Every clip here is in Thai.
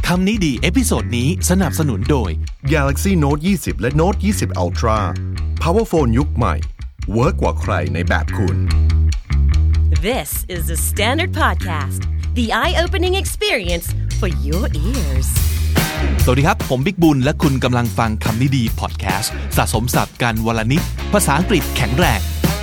คำนี้ดีเอพิโซดนี้สนับสนุนโดย Galaxy Note 20 และ Note 20 Ultra Powerphone ยุคใหม่เวิร์กกว่าใครในแบบคุณ This is the Standard Podcast, the eye-opening experience for your ears. สวัสดีครับผมบิ๊กบุญและคุณกำลังฟังคำนี้ดีพอดแคสต์สะสมศัพท์กันวลนิดภาษาอังกฤษแข็งแรง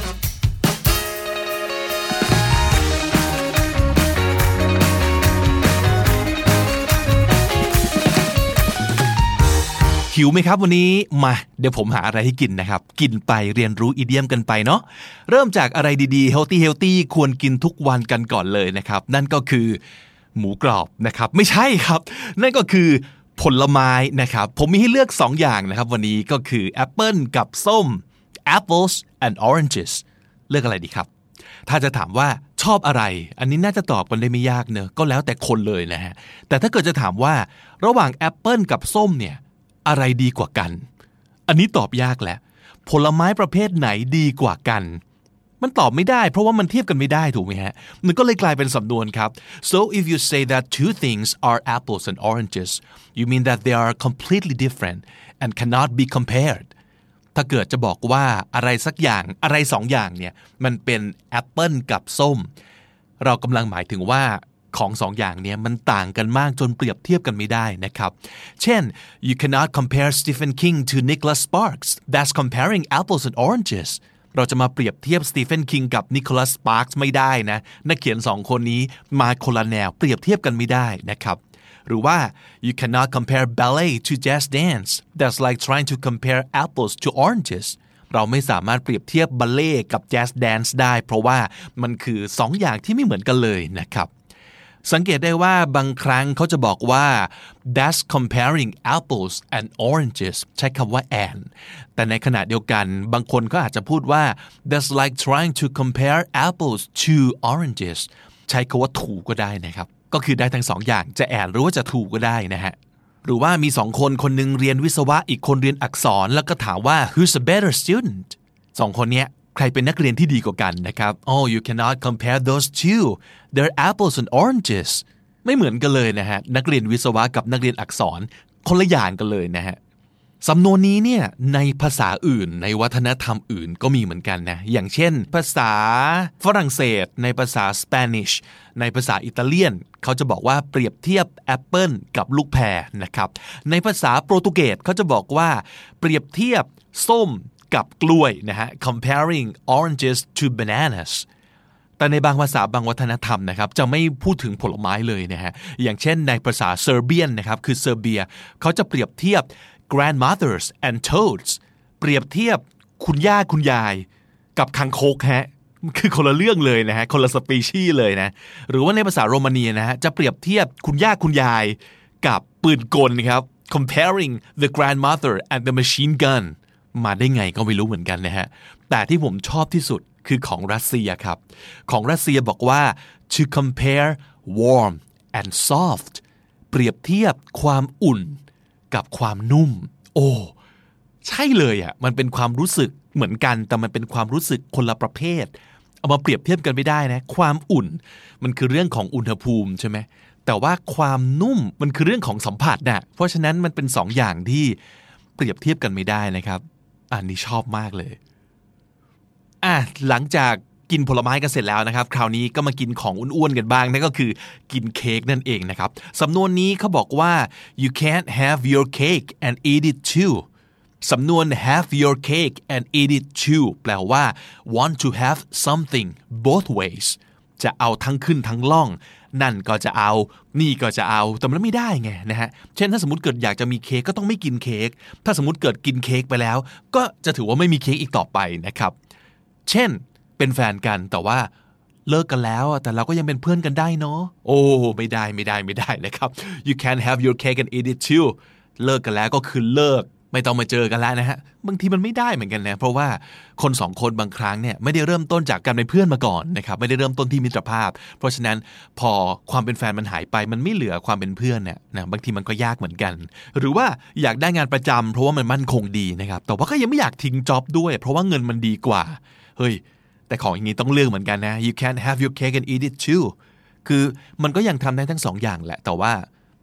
หิวไหมครับวันนี้มาเดี๋ยวผมหาอะไรให้กินนะครับกินไปเรียนรู้อีเดียมกันไปเนาะเริ่มจากอะไรดีๆ healthy ควรกินทุกวันกันก่อนเลยนะครับนั่นก็คือหมูกรอบนะครับไม่ใช่ครับนั่นก็คือผลไม้นะครับผมมีให้เลือก2อย่างนะครับวันนี้ก็คือแอปเปิลกับส้ม apples and oranges เลือกอะไรดีครับถ้าจะถามว่าชอบอะไรอันนี้น่าจะตอบกันได้ไม่ยากเนอะก็แล้วแต่คนเลยนะฮะแต่ถ้าเกิดจะถามว่าระหว่างแอปเปิลกับส้มเนี่ยอะไรดีกว่ากันอันนี้ตอบยากแหละผลไม้ประเภทไหนดีกว่ากันมันตอบไม่ได้เพราะว่ามันเทียบกันไม่ได้ถูกไหมฮะมันก็เลยกลายเป็นสำนวนครับ so if you say that two things are apples and oranges you mean that they are completely different and cannot be compared ถ้าเกิดจะบอกว่าอะไรสักอย่างอะไรสองอย่างเนี่ยมันเป็นแอปเปิลกับส้มเรากำลังหมายถึงว่าของ2 อย่างนี้มันต่างกันมากจนเปรียบเทียบกันไม่ได้นะครับเช่น you cannot compare Stephen King to Nicholas Sparks that's comparing apples and oranges เราจะมาเปรียบเทียบ Stephen King กับ Nicholas Sparks ไม่ได้นะนักเขียน2คนนี้มาคนละแนวเปรียบเทียบกันไม่ได้นะครับหรือว่า you cannot compare ballet to jazz dance that's like trying to compare apples to oranges เราไม่สามารถเปรียบเทียบบัลเล่กับแจ๊สแดนซ์ได้เพราะว่ามันคือ2 อย่างที่ไม่เหมือนกันเลยนะครับสังเกตได้ว่าบางครั้งเขาจะบอกว่า that's comparing apples and oranges ใช้คำว่า and แต่ในขณะเดียวกันบางคนก็อาจจะพูดว่า that's like trying to compare apples to oranges ใช้คำว่า to ก็ได้นะครับก็คือได้ทั้ง2 อย่างจะ and หรือว่าจะ to ก็ได้นะฮะหรือว่ามี2 คนคนนึงเรียนวิศวะอีกคนเรียนอักษรแล้วก็ถามว่า who's a better student 2 คนเนี้ยใครเป็นนักเรียนที่ดีกว่ากันนะครับ Oh you cannot compare those two they're apples and oranges ไม่เหมือนกันเลยนะฮะนักเรียนวิศวะกับนักเรียนอักษรคนละอย่างกันเลยนะฮะสำนวนนี้เนี่ยในภาษาอื่นในวัฒนธรรมอื่นก็มีเหมือนกันนะอย่างเช่นภาษาฝรั่งเศสในภาษาสเปนิชในภาษาอิตาเลียนเขาจะบอกว่าเปรียบเทียบแอปเปิลกับลูกแพรนะครับในภาษาโปรตุเกสเขาจะบอกว่าเปรียบเทียบส้มกับกล้วยนะฮะ comparing oranges to bananas แต่ในบางภาษาบางวัฒนธรรมนะครับจะไม่พูดถึงผลไม้เลยนะฮะอย่างเช่นในภาษาเซอร์เบียนนะครับคือเซอร์เบียเขาจะเปรียบเทียบ grandmothers and toads เปรียบเทียบคุณย่าคุณยายกับคังคกฮะคือคนละเรื่องเลยนะฮะคนละสปีชีส์เลยนะหรือว่าในภาษาโรมาเนียนะฮะจะเปรียบเทียบคุณย่าคุณยายกับปืนกลครับ comparing the grandmother and the machine gunมาได้ไงก็ไม่รู้เหมือนกันนะฮะแต่ที่ผมชอบที่สุดคือของรัสเซียครับของรัสเซียบอกว่า to compare warm and soft เปรียบเทียบความอุ่นกับความนุ่มโอ้ใช่เลยอ่ะมันเป็นความรู้สึกเหมือนกันแต่มันเป็นความรู้สึกคนละประเภทเอามาเปรียบเทียบกันไม่ได้นะความอุ่นมันคือเรื่องของอุณหภูมิใช่ไหมแต่ว่าความนุ่มมันคือเรื่องของสัมผัสนะเพราะฉะนั้นมันเป็น2 อย่างที่เปรียบเทียบกันไม่ได้นะครับอันนี้ชอบมากเลยหลังจากกินผลไม้กันเสร็จแล้วนะครับคราวนี้ก็มากินของอ้วนๆกันบ้างนั่นก็คือกินเค้กนั่นเองนะครับสำนวนนี้เขาบอกว่า you can't have your cake and eat it too สำนวน have your cake and eat it too แปลว่า want to have something both ways จะเอาทั้งขึ้นทั้งล่องนั่นก็จะเอานี่ก็จะเอาแต่มันไม่ได้ไงนะฮะเช่นถ้าสมมติเกิดอยากจะมีเค้กก็ต้องไม่กินเค้กถ้าสมมติเกิดกินเค้กไปแล้วก็จะถือว่าไม่มีเค้กอีกต่อไปนะครับเช่นเป็นแฟนกันแต่ว่าเลิกกันแล้วแต่เราก็ยังเป็นเพื่อนกันได้เนาะโอ้ไม่ได้นะครับ you can't have your cake and eat it too เลิกกันแล้วก็คือเลิกไม่ต้องมาเจอกันแล้วนะฮะบางทีมันไม่ได้เหมือนกันนะเพราะว่าคน2 คนบางครั้งเนี่ยไม่ได้เริ่มต้นจากการเป็นเพื่อนมาก่อนนะครับไม่ได้เริ่มต้นที่มิตรภาพเพราะฉะนั้นพอความเป็นแฟนมันหายไปมันไม่เหลือความเป็นเพื่อนเนี่ยนะบางทีมันก็ยากเหมือนกันหรือว่าอยากได้งานประจำเพราะว่ามันมั่นคงดีนะครับแต่ว่าก็ยังไม่อยากทิ้งจ็อบด้วยเพราะว่าเงินมันดีกว่าเฮ้ยแต่ของอย่างนี้ต้องเลือกเหมือนกันนะ you can't have your cake and eat it too คือมันก็ยังทำได้ทั้ง2 อย่างแหละแต่ว่า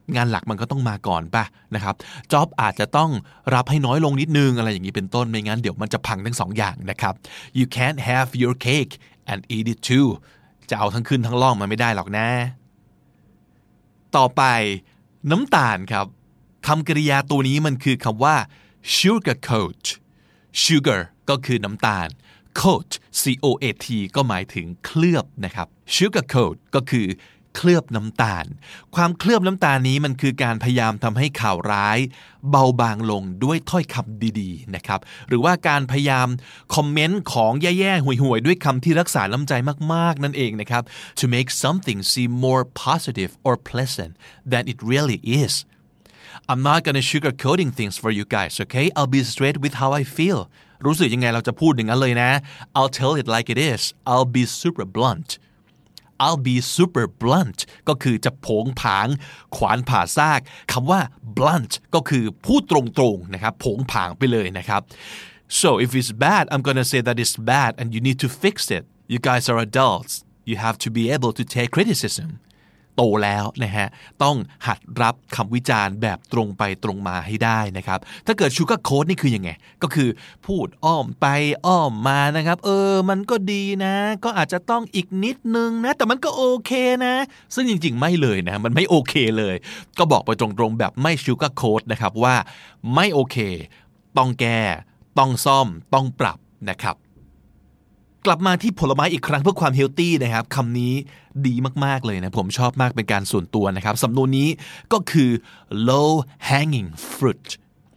งานหลักมันก็ต้องมาก่อนป่ะนะครับจ็อบอาจจะต้องรับให้น้อยลงนิดนึงอะไรอย่างนี้เป็นต้นไม่งั้นเดี๋ยวมันจะพังทั้งสองอย่างนะครับ you can't have your cake and eat it too จะเอาทั้งขึ้นทั้งล่องมันไม่ได้หรอกนะต่อไปน้ำตาลครับคำกริยาตัวนี้มันคือคำว่า sugarcoat sugar ก็คือน้ำตาล coat C-O-A-T ก็หมายถึงเคลือบนะครับ sugarcoat ก็คือเคลือบน้ำตาลความเคลือบน้ำตาลนี้มันคือการพยายามทำให้ข่าวร้ายเบาบางลงด้วยถ้อยคำดีๆนะครับหรือว่าการพยายามคอมเมนต์ของแย่ๆห่วยๆด้วยคำที่รักษาน้ำใจมากๆนั่นเองนะครับ to make something seem more positive or pleasant than it really is I'm not gonna sugarcoating things for you guys okay I'll be straight with how I feel รู้สึกยังไงเราจะพูดอย่างนั้นเลยนะ I'll tell it like it is I'll be super blunt I'll be super blunt ก็คือจะโผงผางขวานผ่าซากคำว่า blunt ก็คือพูดตรงๆนะครับโผงผางไปเลยนะครับ so if it's bad I'm gonna say that it's bad and you need to fix it you guys are adults you have to be able to take criticismโตแล้วนะฮะต้องหัดรับคำวิจารณ์แบบตรงไปตรงมาให้ได้นะครับถ้าเกิด sugar coat นี่คือยังไงก็คือพูดอ้อมไปอ้อมมานะครับมันก็ดีนะก็อาจจะต้องอีกนิดนึงนะแต่มันก็โอเคนะซึ่งจริงๆไม่เลยนะมันไม่โอเคเลยก็บอกไปตรงๆแบบไม่ sugar coat นะครับว่าไม่โอเคต้องแก้ต้องซ่อมต้องปรับนะครับกลับมาที่ผลไม้อีกครั้งเพื่อความเฮลตี้นะครับคำนี้ดีมากๆเลยนะผมชอบมากเป็นการส่วนตัวนะครับสำนวนนี้ก็คือ low hanging fruit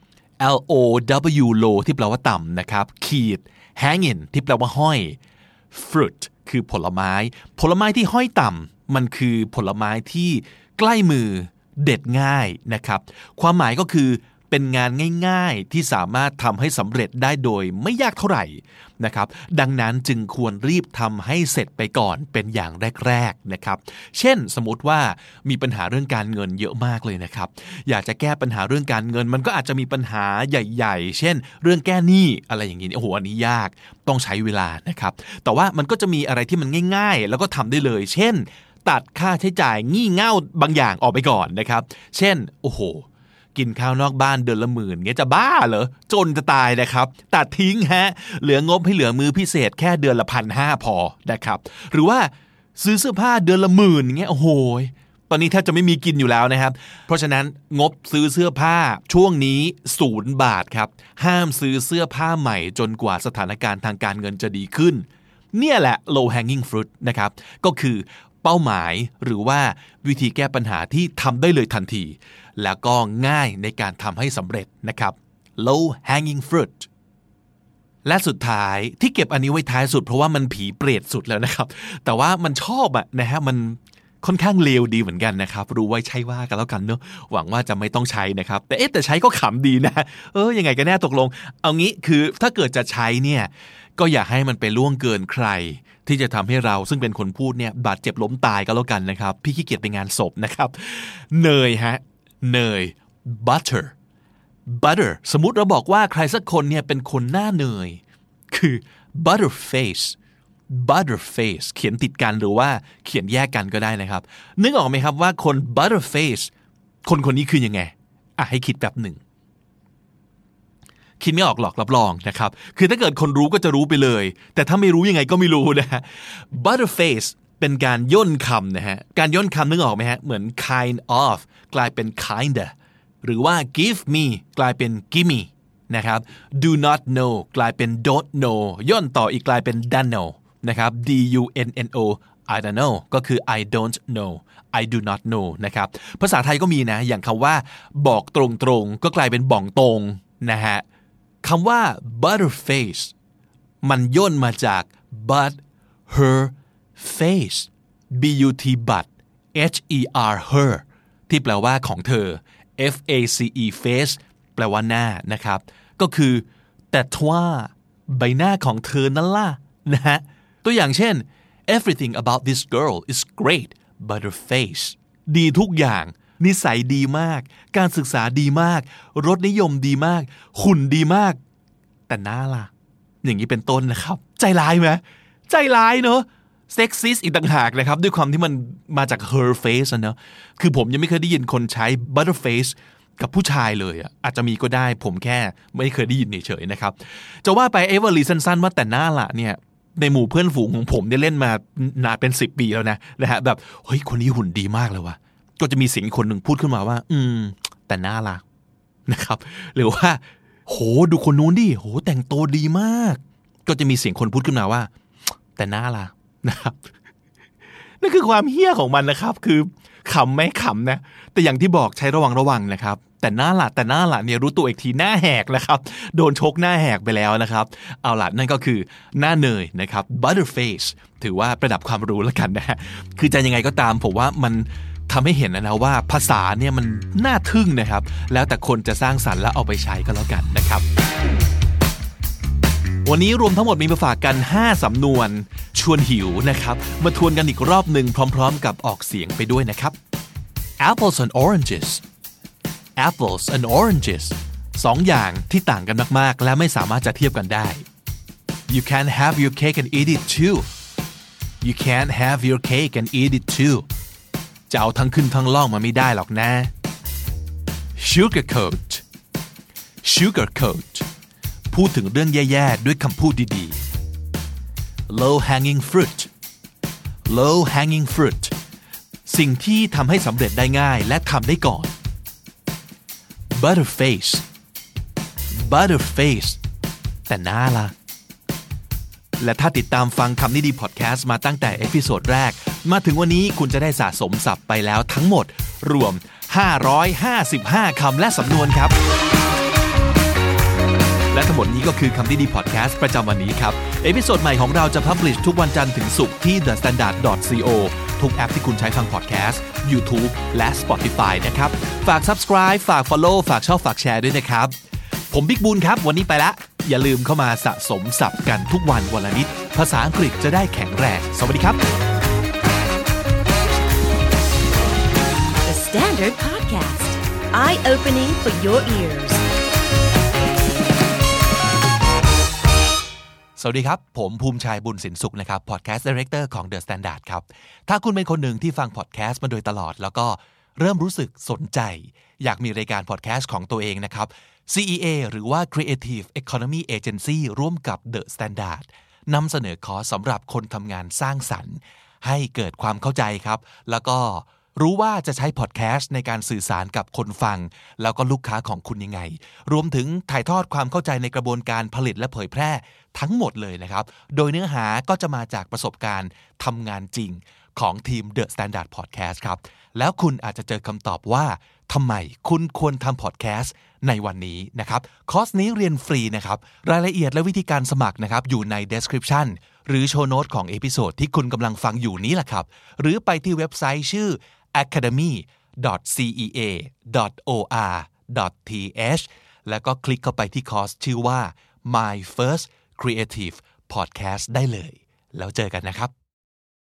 L-O-W low ที่แปลว่าต่ำนะครับขีด hanging ที่แปลว่าห้อย fruit คือผลไม้ที่ห้อยต่ำมันคือผลไม้ที่ใกล้มือเด็ดง่ายนะครับความหมายก็คือเป็นงานง่ายๆที่สามารถทำให้สำเร็จได้โดยไม่ยากเท่าไหร่นะครับดังนั้นจึงควรรีบทำให้เสร็จไปก่อนเป็นอย่างแรกๆนะครับเช่นสมมติว่ามีปัญหาเรื่องการเงินเยอะมากเลยนะครับอยากจะแก้ปัญหาเรื่องการเงินมันก็อาจจะมีปัญหาใหญ่ๆเช่นเรื่องแก้หนี้อะไรอย่างนี้โอ้โหอันนี้ยากต้องใช้เวลานะครับแต่ว่ามันก็จะมีอะไรที่มันง่ายๆแล้วก็ทำได้เลยเช่นตัดค่าใช้จ่ายงี่เง่าบางอย่างออกไปก่อนนะครับเช่นโอ้โหกินข้าวนอกบ้านเดือนละ10,000เงี้ยจะบ้าเหรอจนจะตายนะครับตัดทิ้งฮะเหลืองบให้เหลือมื้อพิเศษแค่เดือนละ 1,500 พอนะครับหรือว่าซื้อเสื้อผ้าเดือนละ10,000เงี้ยโอ้โหตอนนี้แทบจะไม่มีกินอยู่แล้วนะครับเพราะฉะนั้นงบซื้อเสื้อผ้าช่วงนี้0 บาทครับห้ามซื้อเสื้อผ้าใหม่จนกว่าสถานการณ์ทางการเงินจะดีขึ้นเนี่ยแหละ low hanging fruit นะครับก็คือเป้าหมายหรือว่าวิธีแก้ปัญหาที่ทำได้เลยทันทีแล้วก็ง่ายในการทำให้สำเร็จนะครับ low hanging fruit และสุดท้ายที่เก็บอันนี้ไว้ท้ายสุดเพราะว่ามันผีเปรตสุดแล้วนะครับแต่ว่ามันชอบนะฮะมันค่อนข้างเลวดีเหมือนกันนะครับรู้ไว้ใช่ว่ากันแล้วกันเนอะหวังว่าจะไม่ต้องใช้นะครับแต่ใช้ก็ขำดีนะยังไงกันแน่ตกลงเอางี้คือถ้าเกิดจะใช้เนี่ยก็อย่าให้มันไปล่วงเกินใครที่จะทำให้เราซึ่งเป็นคนพูดเนี่ยบาดเจ็บล้มตายก็แล้วกันนะครับพี่ขี้เกียจไปงานศพนะครับเนยฮะเนย butter สมมุติเราบอกว่าใครสักคนเนี่ยเป็นคนหน้าเนยคือ butterface เขียนติดกันหรือว่าเขียนแยกกันก็ได้นะครับนึกออกไหมครับว่าคน butterface คนนี้คือยังไงให้คิดแบบหนึ่งคิดไม่ออกหรอกรับรองนะครับคือถ้าเกิดคนรู้ก็จะรู้ไปเลยแต่ถ้าไม่รู้ยังไงก็ไม่รู้นะฮะ butterface เป็นการย่นคำนะฮะการย่นคำนึกออกไหมฮะเหมือน kind of กลายเป็น kinda หรือว่า give me กลายเป็น gimme นะครับ do not know กลายเป็น don't know ย่นต่ออีกกลายเป็น don't know นะครับ dunno I don't know ก็คือ I don't know I do not know นะครับภาษาไทยก็มีนะอย่างคำว่าบอกตรงๆก็กลายเป็นบ่องตรงนะฮะคำว่า butterface มันย่นมาจาก but her face but but her ที่แปลว่าของเธอ face face แปลว่าหน้านะครับก็คือแต่ทว่าใบหน้าของเธอนั่นล่ะนะฮะตัวอย่างเช่น everything about this girl is great but her face ดีทุกอย่างนิสัยดีมากการศึกษาดีมากรสนิยมดีมากหุ่นดีมากแต่หน้าล่ะอย่างนี้เป็นต้นนะครับใจร้ายไหมใจร้ายเนอะเซ็กซิสอีกต่างหากนะครับด้วยความที่มันมาจาก her face นะเนอะคือผมยังไม่เคยได้ยินคนใช้ butter face กับผู้ชายเลยอาจจะมีก็ได้ผมแค่ไม่เคยได้ยินเฉยๆนะครับจะว่าไปเอเวอร์ลีสั้นๆว่าแต่หน้าละเนี่ยในหมู่เพื่อนฝูงของผมได้เล่นมานานเป็น10 ปีแล้วนะฮะแบบเฮ้ยคนนี้หุ่นดีมากเลยว่ะก็จะมีเสียงคนหนึ่งพูดขึ้นมาว่าแต่หน้าละนะครับหรือว่าโหดูคนนู้นดิโหแต่งตัวดีมากก็จะมีเสียงคนพูดขึ้นมาว่าแต่หน้าละนะครับนั่นคือความเหี้ยของมันนะครับคือขำไหมขำนะแต่อย่างที่บอกใช้ระวังนะครับแต่หน้าละเนี่ยรู้ตัวอีกทีหน้าแหกนะครับโดนชกหน้าแหกไปแล้วนะครับเอาล่ะนั่นก็คือหน้าเนยนะครับ butterface ถือว่าประดับความรู้แล้วกันนะฮะคือจะยังไงก็ตามผมว่ามันทำให้เห็นนะว่าภาษาเนี่ยมันน่าทึ่งนะครับแล้วแต่คนจะสร้างสรรค์แล้วเอาไปใช้ก็แล้วกันนะครับวันนี้รวมทั้งหมดมีมาฝากกัน5สำนวนชวนหิวนะครับมาทวนกันอีกรอบหนึ่งพร้อมๆกับออกเสียงไปด้วยนะครับ apples and oranges apples and oranges 2 อย่างที่ต่างกันมากๆและไม่สามารถจะเทียบกันได้ you can't have your cake and eat it too you can't have your cake and eat it too จะเอาทั้งขึ้นทั้งล่องมาไม่ได้หรอกนะ sugarcoat พูดถึงเรื่องแย่ๆด้วยคำพูดดีๆ low hanging fruit สิ่งที่ทำให้สำเร็จได้ง่ายและทำได้ก่อน butterface แต่หน้าล่ะและถ้าติดตามฟังคำนี้ดีพอดแคสต์มาตั้งแต่เอพิโซดแรกมาถึงวันนี้คุณจะได้สะสมศัพท์ไปแล้วทั้งหมดรวม555คำและสำนวนครับและทั้งหมดนี้ก็คือคำนี้ดีพอดแคสต์ประจำวันนี้ครับเอพิโซดใหม่ของเราจะพับลิชทุกวันจันทร์ถึงศุกร์ที่ thestandard.co ทุกแอปที่คุณใช้ฟังพอดแคสต์ YouTube และ Spotify นะครับฝาก Subscribe ฝาก Follow ฝากชอบฝากแชร์ด้วยนะครับผมบิ๊กบูนครับวันนี้ไปละอย่าลืมเข้ามาสะสมศัพท์กันทุกวันละนิดภาษาอังกฤษจะได้แข็งแรงสวัสดีครับ The Standard Podcast Eye-opening for your ears สวัสดีครับผมภูมิชัยบุญสินสุขนะครับ Podcast Director ของ The Standard ครับถ้าคุณเป็นคนหนึ่งที่ฟัง Podcast มาโดยตลอดแล้วก็เริ่มรู้สึกสนใจอยากมีรายการ Podcast ของตัวเองนะครับ CEA หรือว่า Creative Economy Agency ร่วมกับ The Standard นำเสนอคอร์สสำหรับคนทำงานสร้างสรรค์ให้เกิดความเข้าใจครับแล้วก็รู้ว่าจะใช้พอดแคสต์ในการสื่อสารกับคนฟังแล้วก็ลูกค้าของคุณยังไงรวมถึงถ่ายทอดความเข้าใจในกระบวนการผลิตและเผยแพร่ทั้งหมดเลยนะครับโดยเนื้อหาก็จะมาจากประสบการณ์ทำงานจริงของทีม The Standard Podcast ครับแล้วคุณอาจจะเจอคำตอบว่าทำไมคุณควรทำพอดแคสต์ในวันนี้นะครับคอร์สนี้เรียนฟรีนะครับรายละเอียดและวิธีการสมัครนะครับอยู่ใน description หรือโชว์โน้ตของเอพิโซดที่คุณกำลังฟังอยู่นี้แหละครับหรือไปที่เว็บไซต์ชื่อ academy.cea.or.th แล้วก็คลิกเข้าไปที่คอร์สชื่อว่า My First Creative Podcast ได้เลยแล้วเจอกันนะครับ